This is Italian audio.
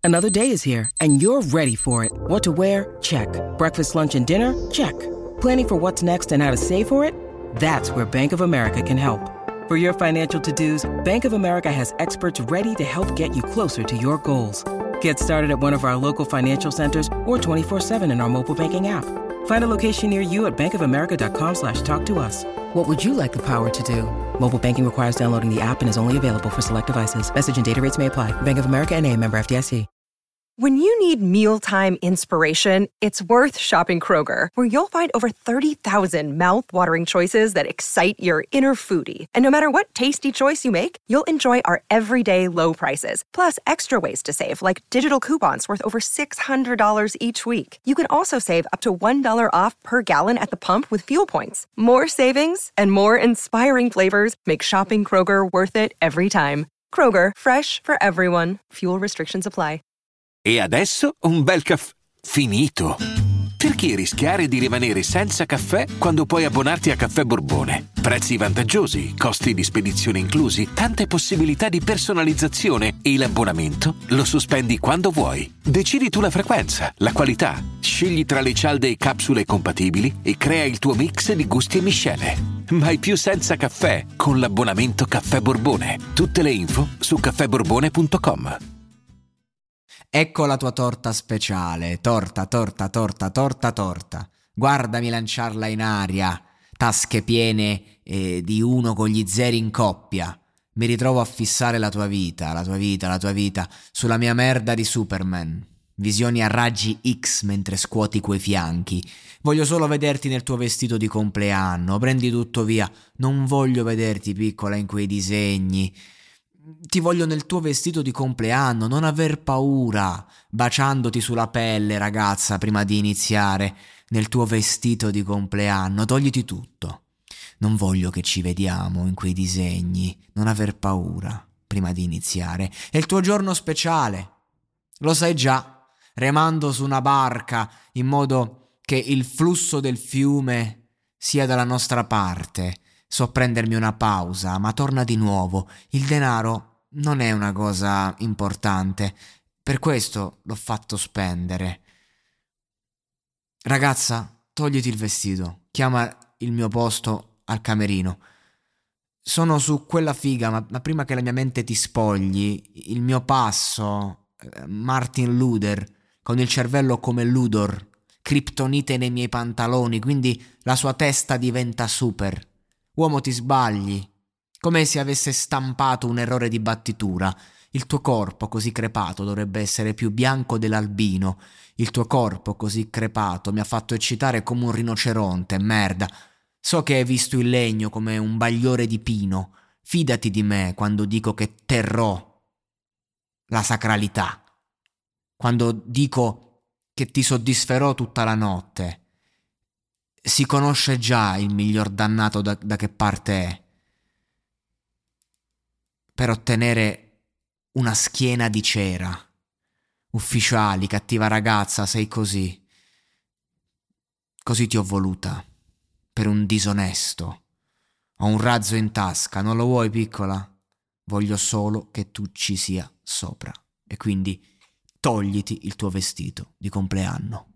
Another day is here, and you're ready for it. What to wear? Check. Breakfast, lunch, and dinner? Check. Planning for what's next and how to save for it? That's where Bank of America can help. For your financial to-dos, Bank of America has experts ready to help get you closer to your goals. Get started at one of our local financial centers or 24/7 in our mobile banking app. Find a location near you at bankofamerica.com/talktous. What would you like the power to do? Mobile banking requires downloading the app and is only available for select devices. Message and data rates may apply. Bank of America N.A., member FDIC. When you need mealtime inspiration, it's worth shopping Kroger, where you'll find over 30,000 mouth-watering choices that excite your inner foodie. And no matter what tasty choice you make, you'll enjoy our everyday low prices, plus extra ways to save, like digital coupons worth over $600 each week. You can also save up to $1 off per gallon at the pump with fuel points. More savings and more inspiring flavors make shopping Kroger worth it every time. Kroger, fresh for everyone. Fuel restrictions apply. E adesso un bel caffè finito. Perché rischiare di rimanere senza caffè quando puoi abbonarti a Caffè Borbone? Prezzi vantaggiosi, costi di spedizione inclusi, tante possibilità di personalizzazione e l'abbonamento lo sospendi quando vuoi. Decidi tu la frequenza, la qualità, scegli tra le cialde e capsule compatibili e crea il tuo mix di gusti e miscele. Mai più senza caffè con l'abbonamento Caffè Borbone. Tutte le info su caffèborbone.com. Ecco la tua torta speciale, torta. Guardami lanciarla in aria, tasche piene di uno con gli zeri in coppia. Mi ritrovo a fissare la tua vita, sulla mia merda di Superman. Visioni a raggi X mentre scuoti quei fianchi. Voglio solo vederti nel tuo vestito di compleanno, prendi tutto via. Non voglio vederti piccola in quei disegni. Ti voglio nel tuo vestito di compleanno, non aver paura, baciandoti sulla pelle, ragazza, prima di iniziare, nel tuo vestito di compleanno, togliti tutto. Non voglio che ci vediamo in quei disegni, non aver paura, prima di iniziare. È il tuo giorno speciale, lo sai già, remando su una barca in modo che il flusso del fiume sia dalla nostra parte. So prendermi una pausa, ma torna di nuovo. Il denaro non è una cosa importante, per questo l'ho fatto spendere. Ragazza, togliti il vestito, chiama il mio posto al camerino. Sono su quella figa, ma prima che la mia mente ti spogli, il mio passo, Martin Luther, con il cervello come Ludor, criptonite nei miei pantaloni, quindi la sua testa diventa super. Uomo, ti sbagli, come se avesse stampato un errore di battitura. Il tuo corpo così crepato dovrebbe essere più bianco dell'albino. Il tuo corpo così crepato mi ha fatto eccitare come un rinoceronte, merda. So che hai visto il legno come un bagliore di pino. Fidati di me quando dico che terrò la sacralità. Quando dico che ti soddisferò tutta la notte. Si conosce già il miglior dannato da che parte è. Per ottenere una schiena di cera. Ufficiali, cattiva ragazza, sei così. Così ti ho voluta. Per un disonesto. Ho un razzo in tasca, non lo vuoi, piccola? Voglio solo che tu ci sia sopra. E quindi togliti il tuo vestito di compleanno.